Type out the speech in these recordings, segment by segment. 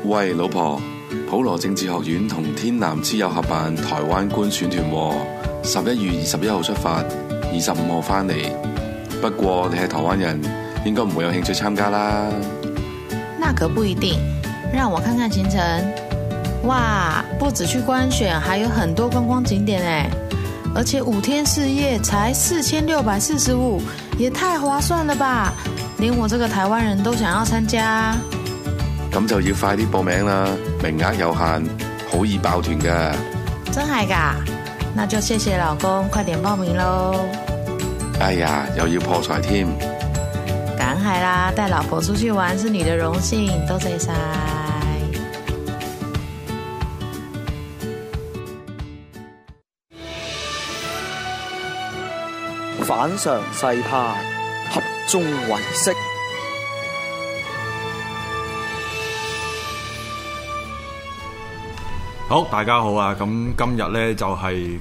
喂，老婆，普羅政治學院同天南之友合辦台灣觀選團，11月21號出發，25號返嚟。不過你係台灣人，應該唔會有興趣參加啦。 那可不一定，讓我看看行程。哇，不止去觀選，還有很多觀光景點誒，而且5天4夜才4645，也太划算了吧！連我這個台灣人都想要參加。 咁就要快啲報名啦，名額有限，好易爆團㗎。 真係㗎？那就謝謝老公，快點報名咯。 哎呀，又要破財添。 梗係啦，帶老婆出去玩是你的榮幸，多謝晒。 反常世態，合眾唯識。 好，大家好啊！咁今日咧就係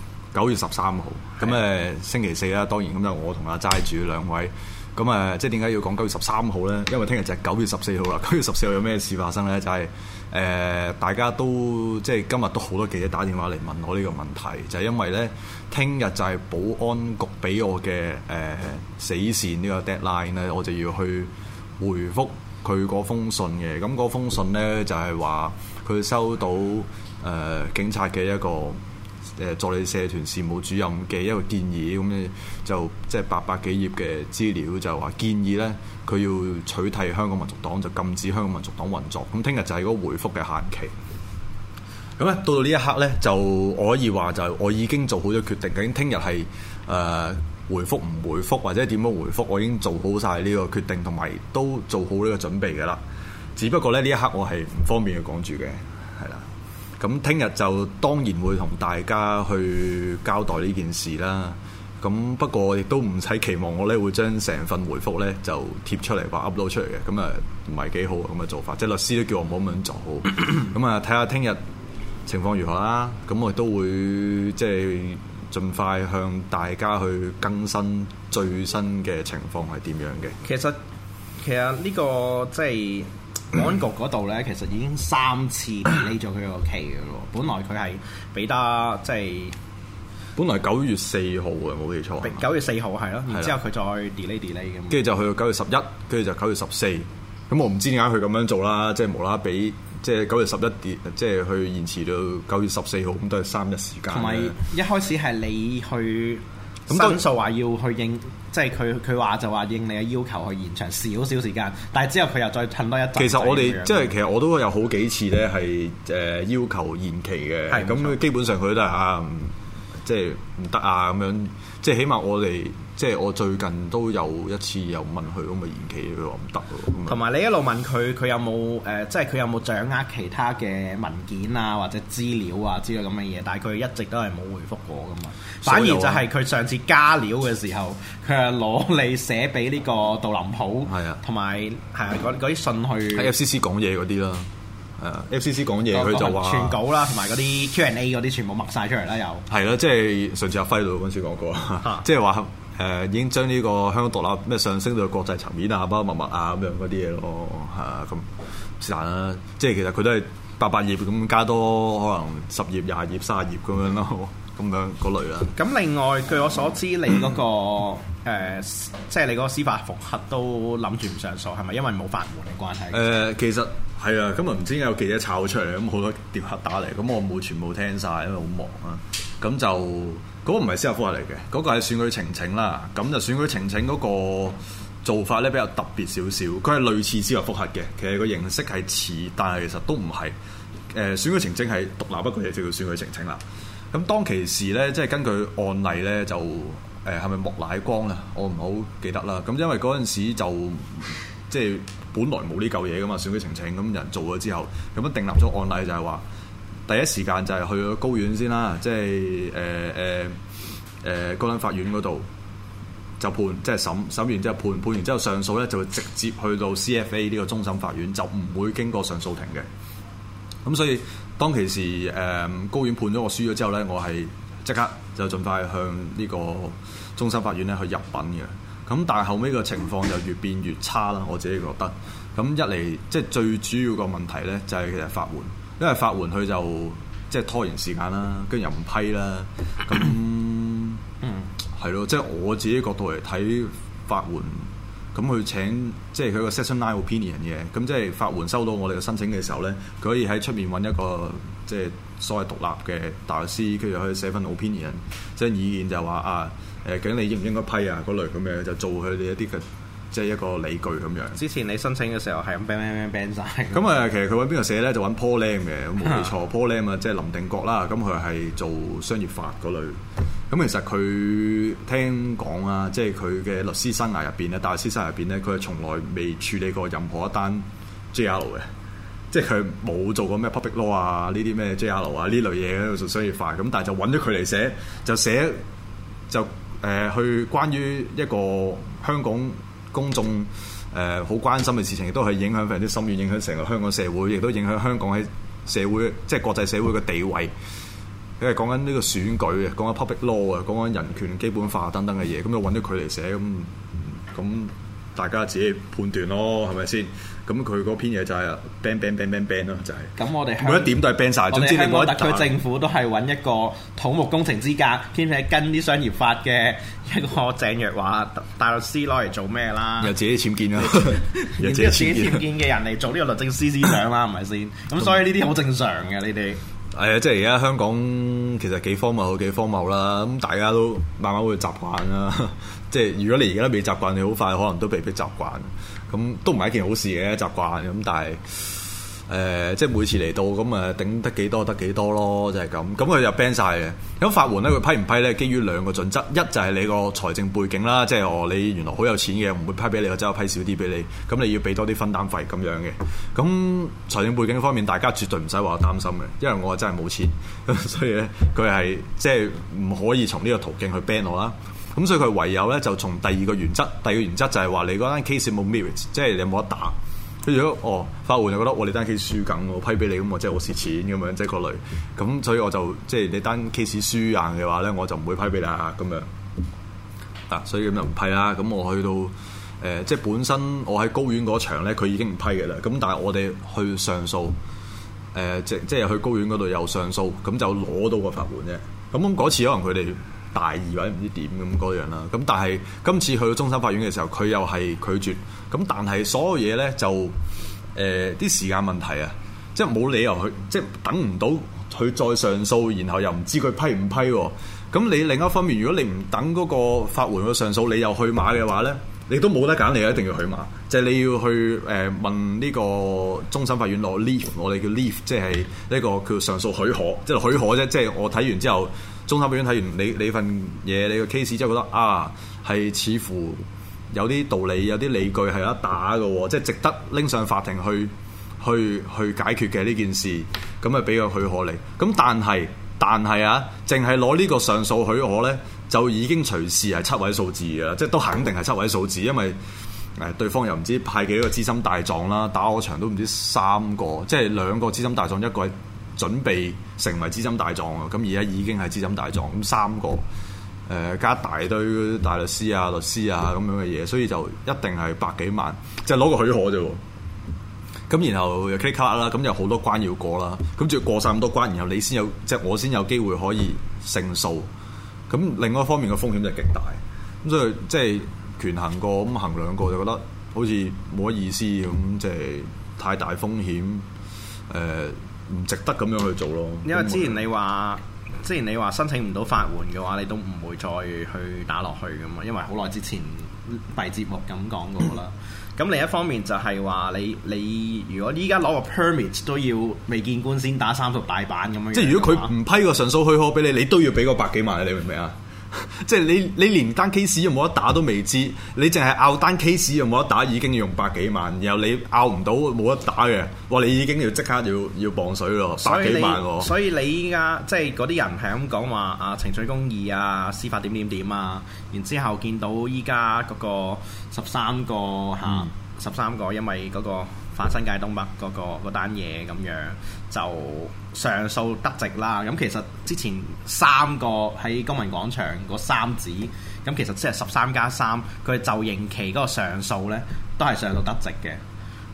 9月13號，咁星期四啦，當然咁就我同阿齋主兩位，咁即係點解要講9月13號咧？因為聽日就係9月14號啦。9月14號有咩事發生咧？就係大家都即係今日都好多記者打電話嚟問我呢個問題，就係因為咧聽日就係保安局俾我嘅死線呢個 deadline 咧，我就要去回覆佢嗰封信嘅。咁嗰封信咧就係話佢收到警察嘅一個助理社團事務主任嘅一個建議，咁就即係800幾頁嘅資料，就話建議咧佢要取締香港民族黨，就禁止香港民族黨運作。咁聽日就係嗰個回覆嘅限期。咁咧到呢一刻咧，就我可以話就我已經做好咗決定，究竟聽日係回覆唔回覆或者點樣回覆，我已經做好晒呢個決定，同埋都做好呢個準備嘅啦。只不過咧呢一刻我係唔方便去講住嘅，係啦。咁聽日就當然會同大家去交代呢件事啦。咁不過亦都唔使期望我咧會將成份回覆咧就貼出嚟或 upload 出嚟嘅，咁唔係幾好咁嘅做法。即係律師都叫我唔好咁樣做好。咁睇下聽日情況如何啦。咁我亦都會即係盡快向大家去更新最新嘅情況係點樣嘅。 其實呢個即係保安局嗰度咧，其實已經3次 delay 咗佢個期嘅咯。本來佢係俾得即係本來9月4號嘅，冇記錯。 9月4號係咯，然之後佢再 delay 咁。 跟住就去到9月11，跟住就9月14。咁我唔知點解佢咁樣做啦，即係無啦啦俾即係9月11即係去延遲到9月14號，咁都係3日時間。同埋一開始係你去申訴話要去應，即係佢話就話應你嘅要求去延長少少時間，但係之後佢又再褪多一陣。 其實我哋即係其實我都有好幾次咧係要求延期嘅，咁基本上佢都係即係唔得啊咁樣，即係起碼我哋即係我最近都有一次又問佢咁嘅延期，佢話唔得喎。同埋你一路問佢有冇即係佢有冇掌握其他嘅文件啊或者資料啊之類咁嘅嘢，但係佢一直都係冇回覆過噶嘛。反而就係佢上次加料嘅時候，佢係攞嚟寫俾呢個杜林普，同埋嗰啲信去喺 FCC 講嘢嗰啲啦。FCC 講嘢佢就話全稿啦，同埋嗰啲 Q&A 嗰啲全部默晒出嚟啦，又係啦，即係上次阿輝度嗰陣時講過，即係話已經將呢個香港獨立咩上升到國際層面啊，包括密啊咁樣嗰啲嘢咯，咁是但啦。即係其實佢都係800頁咁加多可能10頁、20頁、30頁咁樣咯，咁樣嗰類啦。 咁另外據我所知，你嗰個即係你嗰個司法覆核都諗住唔上訴，係咪因為冇法援嘅關係？ 其實係啊，今日唔知有記者炒出嚟，咁好多電話打嚟，咁我冇全部聽晒，因為好忙啊。咁就嗰個唔係司法覆核嚟嘅，嗰個係選舉呈請啦。咁就選舉呈請嗰個做法咧比較特別少少，佢係類似司法覆核嘅，其實個形式係似，但係其實都唔係。選舉呈請係獨立，不過嘢就叫選舉呈請啦。咁當其時咧，即係根據案例咧，就係咪莫乃光啊？我唔好記得啦。咁因為嗰陣時就即係本來冇呢嚿嘢噶嘛，選舉呈請咁人做咗之後，咁樣訂立咗案例就係話，第一時間就係去咗高院先啦，即係高等法院嗰度就判，即係審完之後判完之後上訴咧，就會直接去到 CFA 呢個終審法院，就唔會經過上訴庭嘅。咁所以當其時高院判咗我輸咗之後咧，我係即刻就盡快向呢個終審法院咧去入稟嘅。咁但係後尾個情況就越變越差啦，我自己覺得。 咁一嚟即係最主要個問題咧，就係其實法援，因為法援佢就即係拖延時間啦，跟住又唔批啦，咁係咯，即係我自己角度嚟睇法援。咁佢請即係佢個 Section 9 opinion 嘅，咁即係法援收到我哋嘅申請嘅時候咧，佢可以喺出面揾一個即係所謂獨立嘅大律師，跟住可以寫份 opinion， 即係意見就話啊究竟你應唔應該批啊嗰類咁嘅，就做佢哋一啲嘅即係一個理據咁樣。之前你申請嘅時候係咁 ban 晒。 咁其實佢揾邊個寫咧，就揾 Paul Lam 嘅，咁冇記錯Paul Lam 啊，即係林定國啦，咁佢係做商業法嗰類。咁其實佢聽講啊，即係佢嘅律師生涯入邊咧，大律師生涯入邊咧，佢係從來未處理過任何一單 JR 嘅，即係佢冇做過咩 public law 啊，呢啲咩 JR 啊呢類嘢喺度做商業法。咁但係就揾咗佢嚟寫，就去關於一個香港公眾好關心嘅事情，亦都係影響非常之深遠，影響成個香港社會，亦都影響香港喺社會即係國際社會嘅地位。佢係講緊呢個選舉嘅，講緊 public law 啊，講緊人權基本法等等嘅嘢，咁就揾咗佢嚟寫，咁大家自己判斷咯，係咪先？咁佢嗰篇嘢就係 ban 咯，就係。咁我哋每一點都係 ban 晒。總之你冇得特區政府都係揾一個土木工程資格，兼且跟啲商業法嘅一個鄭若驊大律師攞嚟做咩啦？ 又自己僭建啦， 又自己僭建嘅人嚟做呢個律政司司長啦，係咪先？咁所以呢啲好正常嘅，你哋。 係啊，即係而家香港其實幾荒謬，幾荒謬啦。咁大家都慢慢會習慣啦。即係如果你而家都未習慣，你好快可能都被逼習慣。咁都唔係一件好事嘅習慣。咁但係即係每次嚟到咁頂得幾多得幾多咯，就係咁。咁佢就 ban 晒嘅。咁法援咧，佢批唔批咧？基於兩個準則，一就係你個財政背景啦，即係你原來好有錢嘅，唔會批俾你，或者批少啲俾你。咁你要俾多啲分擔費咁樣嘅。咁財政背景方面，大家絕對唔使話擔心嘅，因為我真係冇錢，所以咧佢係即係唔可以從呢個途徑去 ban 我啦。咁所以佢唯有咧就從第二個原則，第二個原則就係話你嗰單 case 冇 merit， 即係你有冇得打。跟住如果法援就覺得你單 case 輸緊，我批俾你咁，我即係我蝕錢咁樣，即係嗰類。咁所以我就即係你單 case 輸硬嘅話咧，我就唔會批俾你啊咁樣。所以咁就唔批啦。咁我去到即係本身我喺高院嗰場咧，佢已經唔批嘅啦。咁但係我哋去上訴，即係去高院嗰度又上訴，咁就攞到個法援啫。咁嗰次可能佢哋大意或者唔知點咁嗰樣啦，咁但係今次去到終審法院嘅時候，佢又係拒絕，咁但係所有嘢咧就啲時間問題啊，即係冇理由去，即係等唔到佢再上訴，然後又唔知佢批唔批喎。咁你另一方面，如果你唔等嗰個法援去上訴，你又去馬嘅話咧，你都冇得揀，你一定要去馬，就係你要去問呢個終審法院攞 leave， 我哋叫 leave， 即係呢個叫上訴許可，即係許可啫。即係我睇完之後，終審法院睇完你份嘢，你個 case 之後覺得係似乎有啲道理，有啲理據係有得打嘅，即係值得拎上法庭去解決嘅呢件事，咁啊俾個許可你。咁但係啊，淨係攞呢個上訴許可咧，就已經隨時係7位數字嘅啦，即係都肯定係7位數字，因為對方又唔知派幾多個資深大狀啦，打我場都唔知3個，即係2個資深大狀，一個係準備成為資深大狀啊，咁而家已經係資深大狀，咁3個加一大堆大律師啊、律師啊咁樣嘅嘢，所以就一定係百幾萬，即係攞個許可啫。咁然後又 click 卡啦，咁有好多關要過啦，咁仲要過晒咁多關，然後你先有，即係我先有機會可以勝訴。咁另外一方面嘅風險就極大，咁所以即係權衡過咁衡量過，就覺得好似冇乜意思咁，即係太大風險，唔值得咁樣去做咯。 因為之前你話申請唔到法援嘅話，你都唔會再去打落去噶嘛，因為好耐之前閉節目咁講過啦。咁另一方面就係話你如果依家攞個 permit 都要未見官先打30大板咁樣， 即係如果佢唔批個上訴許可俾你，你都要俾個百幾萬，你明唔明啊？即係你連單 case 有冇得打都未知，你淨係拗單 case 有冇得打已經要用百幾萬，然後你拗唔到冇得打嘅，哇！你已經要即刻要磅水咯，百幾萬喎。 所以你依家即係嗰啲人係咁講話程序公義啊、司法點啊，然之後見到依家嗰個13個因為嗰個反新界東北嗰單嘢咁樣就上訴得直啦。咁其實之前3個喺公民廣場嗰3子，咁其實即係13+3，佢就刑期嗰個上訴呢都係上到得直嘅。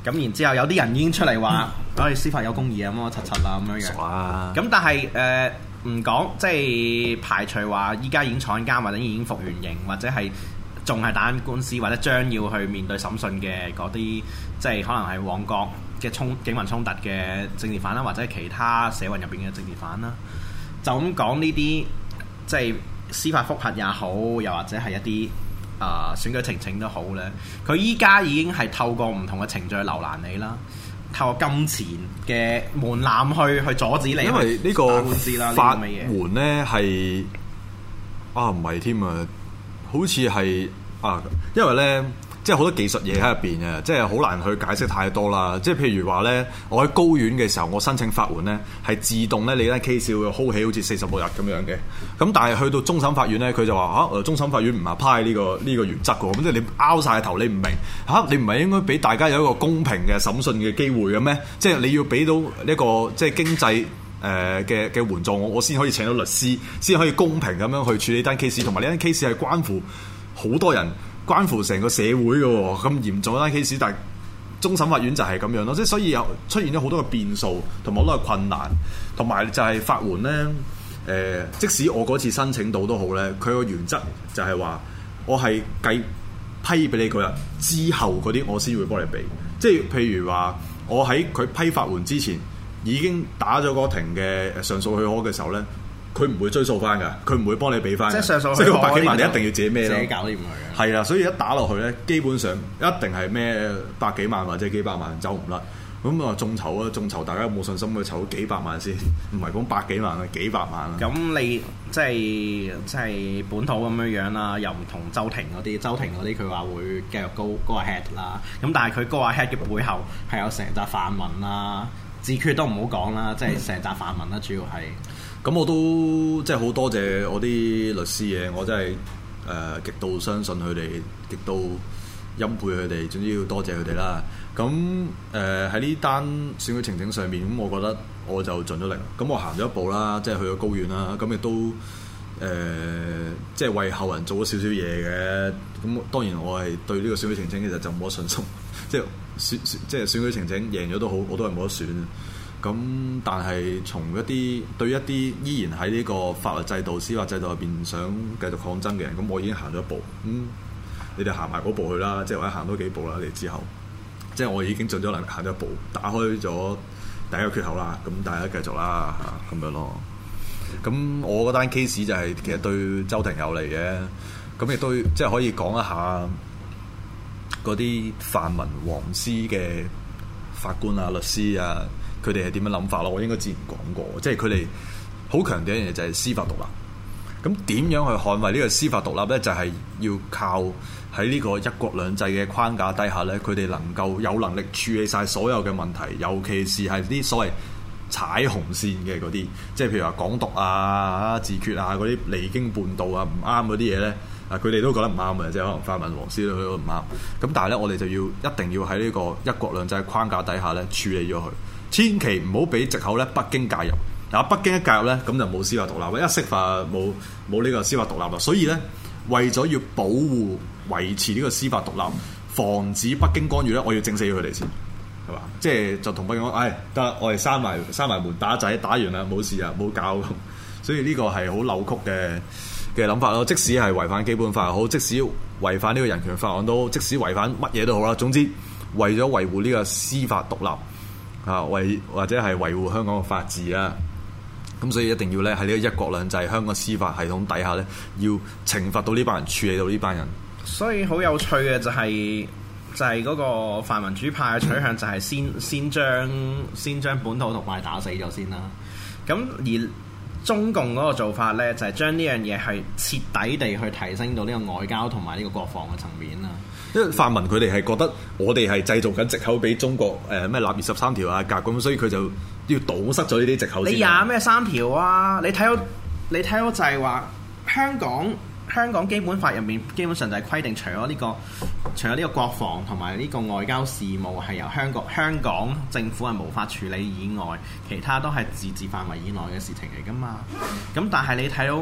咁然之後有啲人已經出嚟話，我哋司法有公義啊，乜乜柒柒啦咁樣樣。 哇！ 咁但係唔講，即係排除話依家已經坐緊監或者已經服完刑，或者係仲係打緊官司，或者將要去面對審訊嘅嗰啲，即係可能係旺角嘅警民衝突嘅政治犯啦，或者係其他社運入邊嘅政治犯啦。就咁講呢啲，即係司法覆核也好，又或者係一啲選舉呈請都好咧，佢依家已經係透過唔同嘅程序去留難你啦，透過金錢嘅門檻去阻止你， 因為呢個官司啦， 法援咧係唔係添啊，好似係因為咧。即係好多技術嘢喺入邊嘅，即係好難去解釋太多啦。即係譬如話咧，我喺高院嘅時候，我申請法援咧，係自動咧，你單 case 會 hold 起好似46日咁樣嘅。咁但係去到終審法院咧，佢就話終審法院唔係派呢個原則嘅。咁即係你拗晒頭，你唔明你唔係應該俾大家有一個公平嘅審訊嘅機會嘅咩？即係你要俾到呢個即係經濟嘅援助，我先可以請到律師，先可以公平咁樣去處理單 case， 同埋呢單 case 係關乎好多人。關乎成個社會嘅喎，咁嚴重單 case， 但係終審法院就係咁樣咯，即係所以有出現咗好多嘅變數，同埋好多嘅困難，同埋就係法援咧。即使我嗰次申請到都好咧，佢個原則就係話，我係計批俾你嗰日之後嗰啲，我先會幫你俾。即係譬如話，我喺佢批法援之前已經打咗嗰庭嘅上訴許可嘅時候咧。佢唔會追溯翻㗎，佢唔會幫你俾翻。即係上訴，即係個百幾萬，你一定要自己孭咯。自己搞掂佢。係啊，所以一打落去咧，基本上一定係孭百幾萬或者幾百萬走唔甩。咁眾籌啊，眾籌大家有冇信心去籌幾百萬先？唔係講百幾萬啊，幾百萬啊。咁你即係本土咁樣樣啦，又唔同周庭嗰啲佢話會繼續go ahead 啦。咁但係佢go ahead嘅背後係有成紮泛民啦，自決都唔好講啦，即係成紮泛民啦，主要係。咁我都即係好多謝我啲律師嘅，我真係極度相信佢哋，極度欽佩佢哋，總之要多謝佢哋啦。咁喺呢單選舉呈請上面，咁我覺得我就盡咗力。咁我行咗一步啦，即係去咗高院啦。咁亦都即係為後人做咗少少嘢嘅。咁當然我係對呢個選舉呈請其實就冇乜信心，即係選舉呈請贏咗都好，我都係冇得選。咁但係從對一啲依然喺呢個法律制度、司法制度入邊想繼續抗爭嘅人，咁我已經行咗一步。你哋行埋嗰步去啦，即係或者行多幾步啦。你之後，即係我已經盡咗能力行咗一步，打開咗第一個缺口啦。咁大家繼續啦，咁樣咯。咁我嗰單 case 就係其實對周庭有利嘅，咁亦都即係可以講一下嗰啲泛民黃絲嘅法官啊、律師啊。佢哋係點樣諗法咯？我應該之前講過，即係佢哋好強調一樣嘢就係司法獨立。咁點樣去捍衞呢個司法獨立呢？就係要靠喺呢個一國兩制嘅框架底下呢，佢哋能夠有能力處理晒所有嘅問題，尤其是係啲所謂踩紅線嘅嗰啲，即係譬如話港獨啊、自決啊嗰啲離經叛道啊、唔啱嗰啲嘢呢。佢哋都覺得唔啱嘅，即係可能泛民黃絲都覺得唔啱。咁但係呢，我哋就要一定要喺呢個一國兩制嘅框架底下呢處理咗佢。千祈唔好俾藉口咧，北京介入。北京一介入咧，咁就冇司法獨立，一釋法冇呢個司法獨立啦。所以咧，為咗要保護、維持呢個司法獨立，防止北京干預咧，我要整死佢哋先，係嘛？即係就同北京講，得我哋閂埋門打仔，打完啦，冇事啊，冇搞。所以呢個係好扭曲嘅諗法咯。即使係違反基本法又好，即使違反呢個人權法案都好，即使違反乜嘢都好啦。總之，為咗維護呢個司法獨立。或者係維護香港嘅法治啦，咁所以一定要咧喺呢個一國兩制香港司法系統底下咧，要懲罰到呢班人，處理到呢班人。所以好有趣嘅就係嗰個泛民主派嘅取向就係先將本土同埋打死咗先啦。咁而中共嗰個做法咧，就係將呢樣嘢係徹底地去提升到呢個外交同埋呢個國防嘅層面啦。因為泛民佢哋係覺得我哋係製造緊藉口俾中國咩立23條啊格咁，所以佢就要堵塞咗呢啲藉口先。你廿咩3條啊？你睇到就係話香港基本法入面基本上就係規定，除咗呢個國防同埋呢個外交事務係由香港政府係無法處理以外，其他都係自治範圍以內嘅事情嚟㗎嘛。咁但係你睇到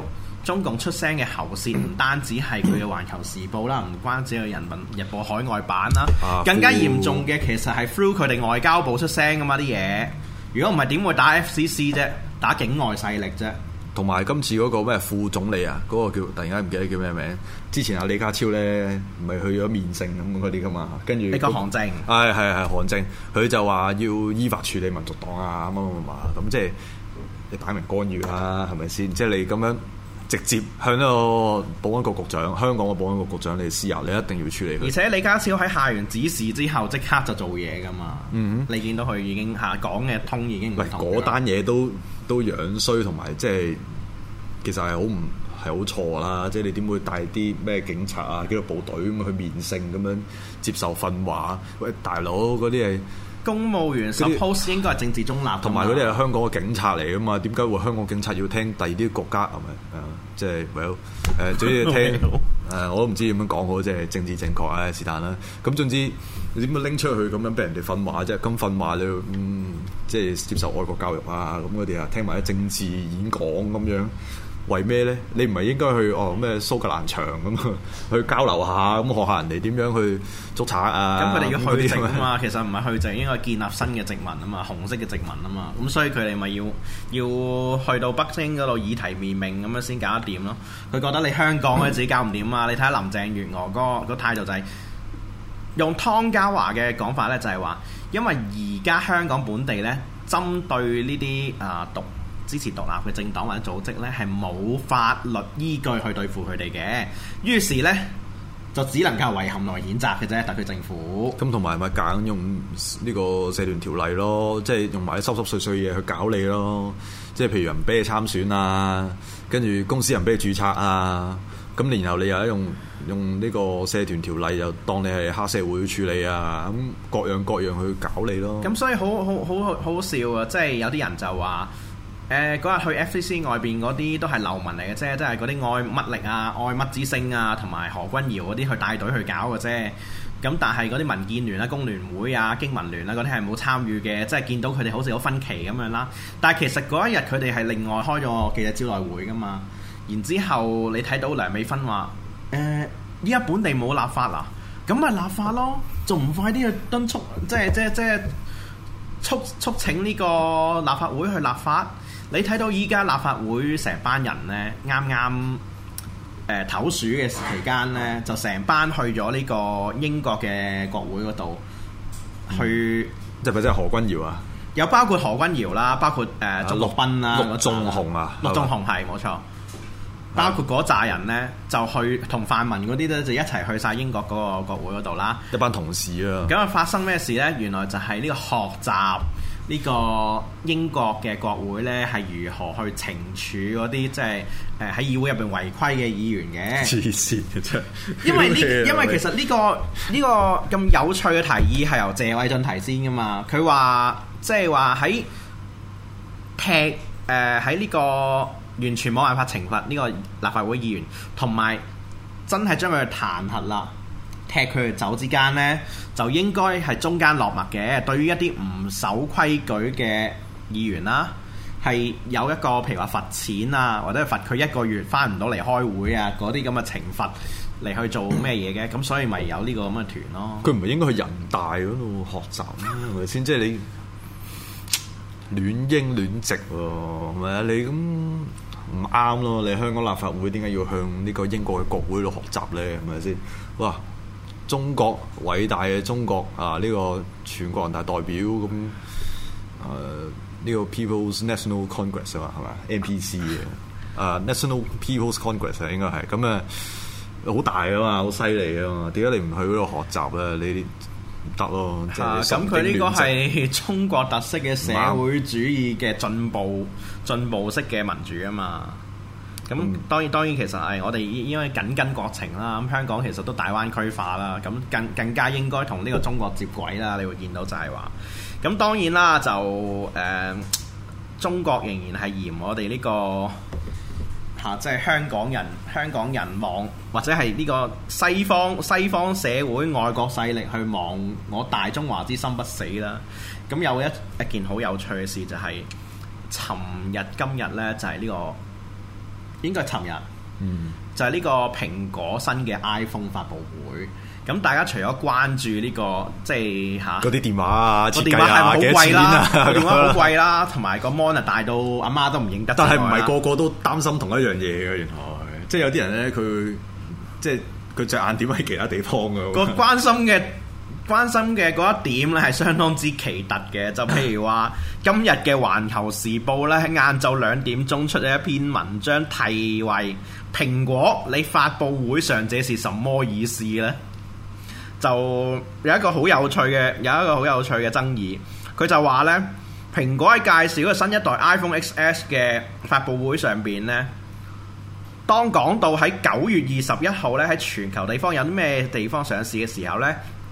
中共出聲嘅喉舌唔單止係佢嘅《環球時報》啦，唔關止係《人民日報》海外版啦，更加嚴重嘅其實係 through 佢哋外交部出聲噶嘛啲嘢。如果唔係點會打 FCC 啫？打境外勢力啫。 同埋今次嗰個咩副總理啊，嗰、嗰個叫突然間唔記得叫咩名。之前阿李家超咧，唔係去咗面聖咁嗰啲噶嘛，跟住你講韓正， 係韓正，佢就話要依法處理民族黨啊乜咁即係你擺明干預啦，係咪先？即係你咁樣直接向一個保安局局長，香港嘅保安局局長你施壓，你一定要處理佢。 而且李家超喺下完指示之後，即刻就做嘢噶嘛。你見到佢已經講嘅通已經唔同。 嗰單嘢都樣衰，同埋即係其實係好錯啦！即係你點會帶啲咩警察啊、紀律部隊咁去面聖咁樣接受訓話？喂，大佬嗰啲係公務員 suppose 應該係政治中立， 同埋嗰啲係香港嘅警察嚟噶嘛？點解會香港警察要聽第二啲國家係咪？即係總之聽我都唔知點樣講好，即係政治正確啊，是但啦。咁總之你點樣拎出去咁樣俾人哋訓話啫？咁訓話你即係接受愛國教育啊，咁嗰啲啊，聽埋啲政治演講咁樣。為咩咧？你唔係應該去咩蘇格蘭場咁去交流下，咁學下人哋點樣去捉賊啊？ 咁佢哋要去殖啊嘛，其實唔係去殖，應該建立新嘅殖民啊嘛，紅色嘅殖民啊嘛。咁所以佢哋咪要去到北京嗰度以提面命咁樣先搞得掂咯。佢覺得你香港咧自己搞唔掂啊！你睇下林鄭月娥嗰個態度就係用湯家驊嘅講法咧，就係話因為而家香港本地咧針對呢啲支持獨立嘅政黨或者組織呢，係冇法律依據去對付佢哋嘅，於是呢，就只能夠遺憾同埋譴責嘅啫，特區政府。 咁同埋咪夾硬用呢個社團條例咯，即係用埋啲濕濕碎碎嘢去搞你咯，即係譬如人俾你參選啊，跟住公司人俾你註冊啊，咁然後你又用呢個社團條例又當你係黑社會去處理啊，咁各樣去搞你咯。咁所以好笑啊！即係有啲人就話。嗰日去 FCC 外邊嗰啲都係流民嚟嘅啫，即係嗰啲愛乜力啊、愛乜之星啊，同埋何君堯嗰啲去帶隊去搞嘅啫。咁但係嗰啲民建聯啊、工聯會啊、經民聯啊嗰啲係冇參與嘅，即係見到佢哋好似有分歧咁樣啦。但係其實嗰一日佢哋係另外開咗個記者招待會噶嘛。然之後你睇到梁美芬話：依家本地冇立法啦，咁咪立法咯，仲唔快啲去敦促，即係促請呢個立法會去立法。你睇到依家立法會成班人呢，啱啱唞暑嘅期間呢，就成班去咗呢個英國嘅國會嗰度去。 即係咪即係何君堯啊？ 有包括何君堯啦，包括鍾國斌啦， 陸頌雄啊， 陸頌雄係冇錯。包括嗰扎人呢，就去同泛民嗰啲咧，就一齊去晒英國嗰個國會嗰度啦。 一班同事啊。 咁啊，發生咩事呢？原來就係呢個學習呢個英國嘅國會呢，係如何去懲處嗰啲即係喺議會入邊違規嘅議員嘅。 黐線嘅啫。 因為其實呢個咁有趣嘅提議係由謝偉俊提先噶嘛。佢話即係話喺呢個。完全冇辦法懲罰呢個立法會議員，同埋真係將佢彈劾啦，踢佢哋走之間呢，就應該係中間落墨嘅。對於一啲唔守規矩嘅議員啦，係有一個譬如話罰錢啊，或者罰佢1個月返唔到嚟開會啊，嗰啲咁嘅懲罰嚟去做咩嘢嘅？咁所以咪有呢個咁嘅團咯。 佢唔係應該去人大嗰度學習咩？係咪先？即係你亂英亂直喎，係咪啊？你咁。唔啱咯！你香港立法會點解要向呢個英國嘅國會度學習呢？係咪先？哇！中國偉大嘅中國啊！呢個全國人大代表咁呢個 People's National Congress 啊，係咪 NPC 嘅National People's Congress 啊，應該係咁好大啊嘛，好犀利啊嘛！點解你唔去嗰度學習咧？你唔得咯！ 咁佢呢個係中國特色嘅社會主義嘅進步式嘅民主啊嘛。咁當然其實係我哋應該緊跟國情啦。咁香港其實都大灣區化啦。咁更加應該同呢個中國接軌啦。你會見到就係話，咁當然啦，就中國仍然係嫌我哋呢個。即係香港人望或者係呢個西方社會外國勢力去望我大中華之心不死啦。咁有一件好有趣嘅事就係、是，今日呢，就係呢個應該係尋日就係呢個蘋果新嘅 iPhone 發布會。咁大家除咗關注呢個即係嚇嗰啲電話啊， 個電話係咪好貴啦？個電話好貴啦， 啦，同埋個 mon 大到阿媽都唔認得。 但係唔係個個都擔心同一樣嘢嘅，原來即係有啲人咧，佢即係佢隻眼點喺其他地方嘅。 個關心嘅嗰一點咧係相當之奇特嘅，就譬如話今日嘅《環球時報》咧喺晏晝2點鐘出咗一篇文章，題為《蘋果你發佈會上這是什麼意思呢》。就有一個好有趣嘅爭議，佢就話呢，蘋果喺介紹個新一代 iPhone XS 嘅發佈會上邊呢，當講到喺9月21號呢喺全球地方有啲咩地方上市嘅時候呢，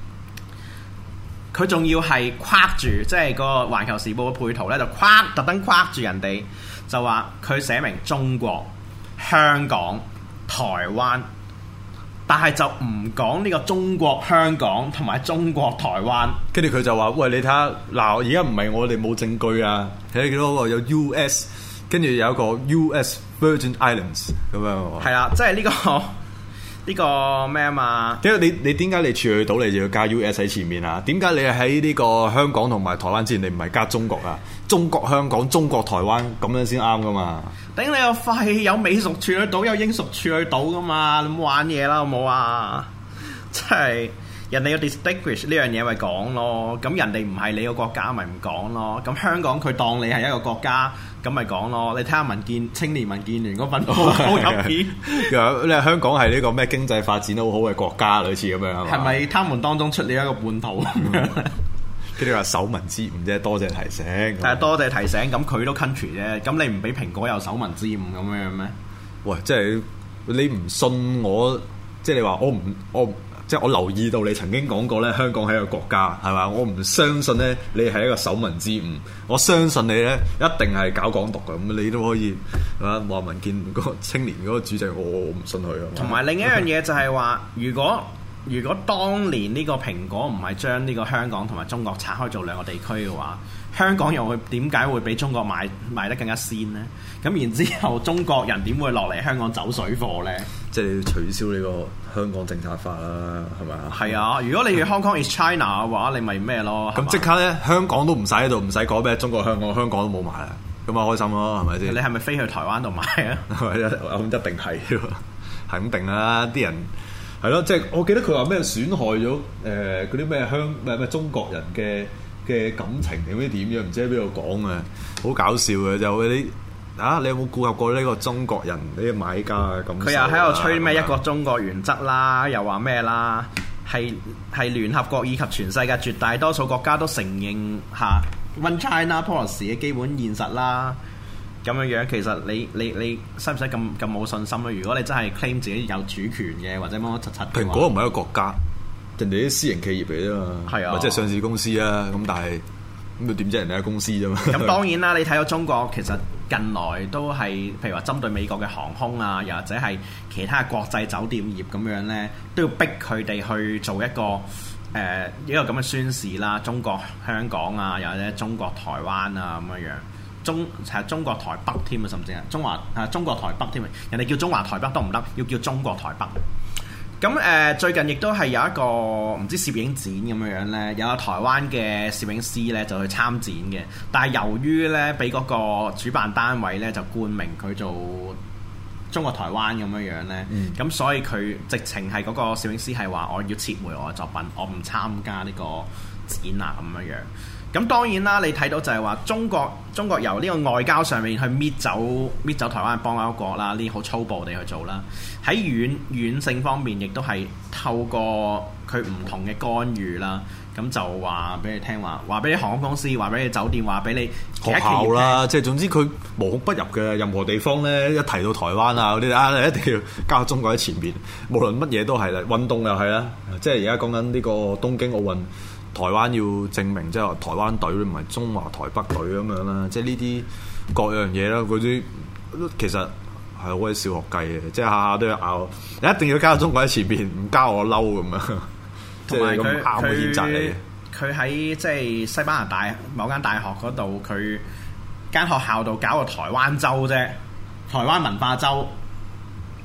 佢仲要係框住，即係個《環球時報》嘅配圖呢，就特登框住人哋，就話佢寫明中國、香港、台灣。但係就唔講呢個中國香港同埋中國台灣， 跟住佢就話：喂，你睇下嗱，而家唔係我哋冇證據啊，睇幾多個有 US， 跟住有一個 US Virgin Islands 咁樣。係啦，即係呢個咩啊嘛？ 點解你點解你處去到你就要加 US 喺前面啊？點解你喺呢個香港同埋台灣之前你唔係加中國啊？中國香港、中國台灣咁樣先啱噶嘛？ 頂你個肺！有美屬處去到，有英屬處去到噶嘛？你唔好玩嘢啦，好冇啊？即係人哋有 distinguish 呢樣嘢咪講咯，咁人哋唔係你個國家咪唔講咯。咁香港佢當你係一個國家，咁咪講咯。你睇下青年民建聯嗰份好入片， 你話香港係呢個咩經濟發展得好好嘅國家，類似咁樣係咪？他們當中出了一個叛徒跟住話手民之誤啫，多謝提醒。 但係多謝提醒，咁佢都 country 啫。咁你唔俾蘋果有手民之誤咁樣咩？喂， 即係你唔信我，即係你話即係我留意到你曾經講過咧，香港係一個國家，係嘛？我唔相信咧，你係一個手民之誤。我相信你咧，一定係搞港獨嘅。咁你都可以話民建聯嗰個青年嗰個主席，我唔信佢啊。 同埋另一樣嘢就係話，如果當年呢個蘋果唔係將呢個香港同埋中國拆開做兩個地區嘅話，香港又會點解會比中國賣得更加先呢？咁然之後，中國人點會落嚟香港走水貨呢？ 即係你要取消呢個香港政策法啦，係咪啊？ 係啊！如果你要 Hong Kong is China 嘅話，你咪咩咯？ 咁即刻咧，香港都唔使喺度，唔使講咩中國香港都冇埋啦，咁啊開心咯，係咪先？ 你係咪飛去台灣度買啊？ 咁一定係，係咁定啦，啲人。係咯，即係我記得佢話咩損害咗嗰啲咩中國人嘅感情定唔知點樣，唔知喺邊度講啊，好搞笑嘅就你有冇顧及過呢個中國人呢個買家嘅感受？佢又喺度吹咩一個中國原則啦，又話咩啦，係聯合國以及全世界絕大多數國家都承認下 One China Policy 嘅基本現實啦。咁樣其實你使唔使咁冇信心咧？如果你真係 claim 自己有主權嘅，或者乜乜柒柒， 蘋果唔係一個國家，人哋啲私營企業嚟啫嘛， 係啊， 或者係上市公司啊。咁但係咁佢點知人哋係公司啫嘛？ 咁當然啦，你睇到中國其實近來都係譬如話針對美國嘅航空啊，又或者係其他國際酒店業咁樣咧，都要逼佢哋去做一個咁嘅宣示啦。中國香港啊，又或者中國台灣啊咁樣。中國台北添啊，甚至係中國台北添啊，人哋叫中華台北都唔得，要叫中國台北。咁最近亦都係有一個唔知攝影展咁樣咧，有個台灣嘅攝影師咧就去參展嘅，但係由於咧俾嗰個主辦單位咧就冠名佢做中國台灣咁樣咧，咁所以佢直情係嗰個攝影師係話我要撤回我嘅作品，我唔參加呢個展啊咁樣。咁當然啦，你睇到就係話中國由呢個外交上面去搣走台灣嘅邦交國啦，呢好粗暴地去做啦。喺軟性方面，亦都係透過佢唔同嘅干預啦。咁就話俾你聽話俾你航空公司，話俾你酒店，話俾你學校啦，即係總之佢無孔不入嘅任何地方咧，一提到台灣啊嗰啲你一定要加中國喺前面，無論乜嘢都係啦，運動又係啦，即係而家講緊呢個東京奧運。台灣要證明即係話台灣隊唔係中華台北隊咁樣啦，即係呢啲各樣嘢啦，嗰啲其實係好鬼小學雞嘅，即係下下都要拗，你一定要加中國喺前邊，唔加我嬲咁樣，即係咁啱嘅譴責你。 佢喺即係西班牙某間大學嗰度，佢間學校度搞個台灣週啫，台灣文化週。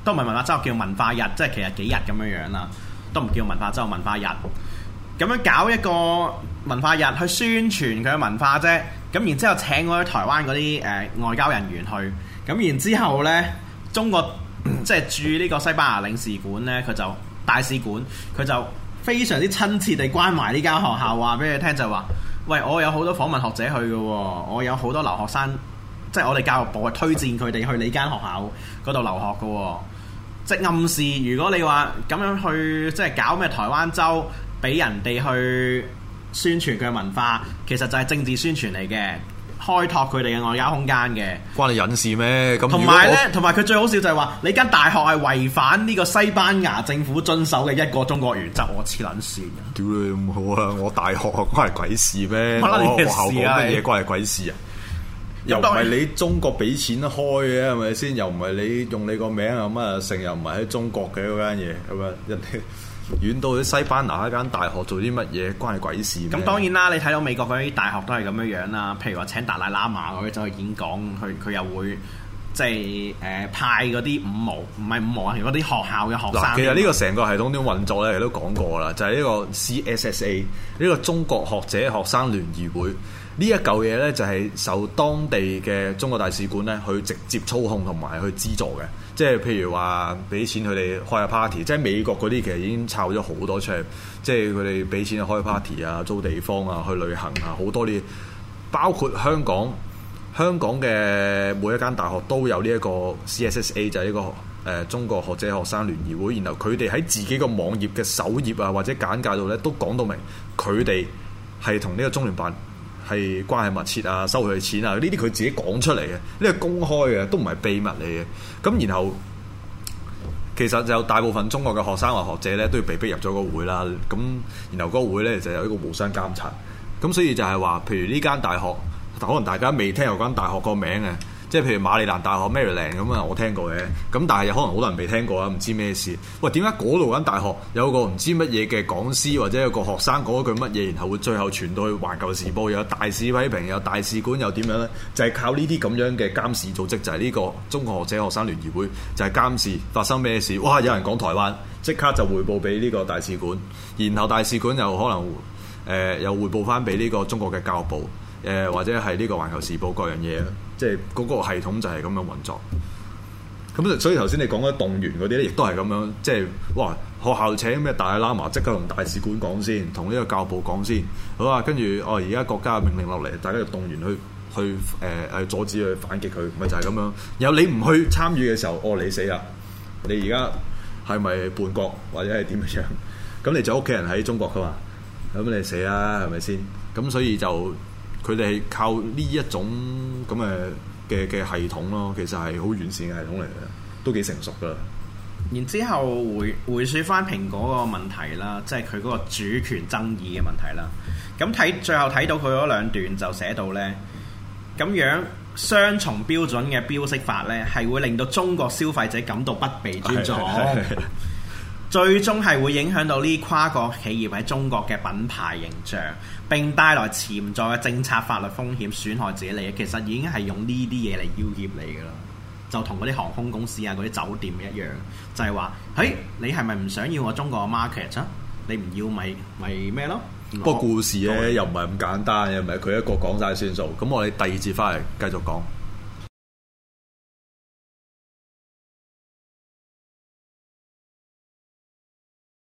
都唔係文化週，叫文化日，即係其實幾日咁樣樣啦，都唔叫文化週，文化日。咁樣搞一個文化日去宣傳佢嘅文化啫。咁然之後請嗰啲台灣嗰啲外交人員去。咁然之後呢，中國即係駐呢個西班牙領事館呢，佢就大使館，佢就非常之親切地關懷呢間學校，話俾你聽就話：喂，我有好多訪問學者去嘅喎，我有好多留學生，即係我哋教育部係推薦佢哋去你間學校嗰度留學嘅喎。即係暗示，如果你話咁樣去即係搞咩台灣週，俾人哋去宣傳佢嘅文化，其實就係政治宣傳嚟嘅。開拓佢哋嘅外交空間嘅， 關你隱事咩？咁同埋咧，同埋佢最好笑就係話，你間大學係違反呢個西班牙政府遵守嘅一個中國原則，我黐撚線嘅。 屌你咁好啊！我大學關係鬼事咩？ 我學校講乜嘢關係鬼事啊？又唔係你中國俾錢開嘅係咪先？又唔係你用你個名咁啊？成日唔係喺中國嘅嗰間嘢咁啊？人哋遠到去西班牙一間大學做啲乜嘢，關係鬼事咩？咁當然啦，你睇到美國嗰啲大學都係咁樣樣啦。譬如話請達賴喇嘛嗰啲走去演講，佢又會即係派嗰啲唔係五毛啊，係嗰啲學校嘅學生。 其實呢個成個系統點運作咧，亦都講過啦，就係呢個 CSSA 呢個中國學者學生聯誼會呢一嚿嘢咧，就係受當地嘅中國大使館咧去直接操控同埋去資助嘅。即係譬如話俾錢佢哋開下 party，即係美國嗰啲其實已經炒咗好多出嚟，即係佢哋俾錢去開 party 啊、租地方啊、去旅行啊，好多啲，包括香港嘅每一間大學都有呢一個 CSSA，就係呢個中國學者學生聯誼會，然後佢哋喺自己個網頁嘅首頁啊或者簡介度咧都講到明，佢哋係同呢個中聯辦係關係密切啊，收佢錢啊，呢啲佢自己講出嚟嘅，呢個公開嘅，都唔係秘密嚟嘅。咁然後其實就大部分中國嘅學生或學者咧都要被逼入咗個會啦。咁然後嗰個會咧就有一個互相監察。咁所以就係話，譬如呢間大學，可能大家未聽過間大學個名嘅，即係譬如馬里蘭大學 Maryland 咁啊，我聽過嘅。咁但係可能好多人未聽過啊，唔知咩事。喂，點解嗰度間大學有個唔知乜嘢嘅講師或者有個學生講一句乜嘢，然後會最後傳到去環球時報，有大使批評，有大使館又點樣呢？就係靠呢啲咁樣嘅監視組織，就係呢個中國學者學生聯誼會，就係監視發生咩事。哇！有人講台灣，即刻就匯報俾呢個大使館，然後大使館又可能又匯報翻俾呢個中國嘅教育部。或者係呢個環球時報各樣嘢，即係嗰個系統就係咁樣運作。咁所以頭先你講嘅動員嗰啲咧，亦都係咁樣，即係哇學校請咩大喇嘛，即刻同大使館講先，同呢個教育部講先，好啊，跟住而家國家嘅命令落嚟，大家就動員去阻止佢反擊佢，咪就係咁樣。然後你唔去參與嘅時候，你死啦！你而家係咪叛國或者係點樣？咁你就屋企人喺中國噶嘛？咁你死啦，係咪先？咁所以就。佢哋係靠呢一種咁嘅系統咯，其實係好完善嘅系統嚟嘅，都幾成熟噶。 然之後回説翻蘋果個問題啦，即係佢嗰個主權爭議嘅問題啦。咁最後睇到佢嗰兩段就寫到呢，咁樣雙重標準嘅標識法呢，係會令到中國消費者感到不被尊重。最終係會影響到呢跨國企業喺中國嘅品牌形象，並帶來潛在嘅政策法律風險，損害自己利益。其實已經係用呢啲嘢嚟要挾你㗎啦，就同嗰啲航空公司啊、嗰啲酒店一樣，就係話：嘿，你係咪唔想要我中國嘅 market 啊？你唔要咪咩咯？ 不過故事咧又唔係咁簡單，又唔係佢一個講晒算數。咁我哋第二節翻嚟繼續講。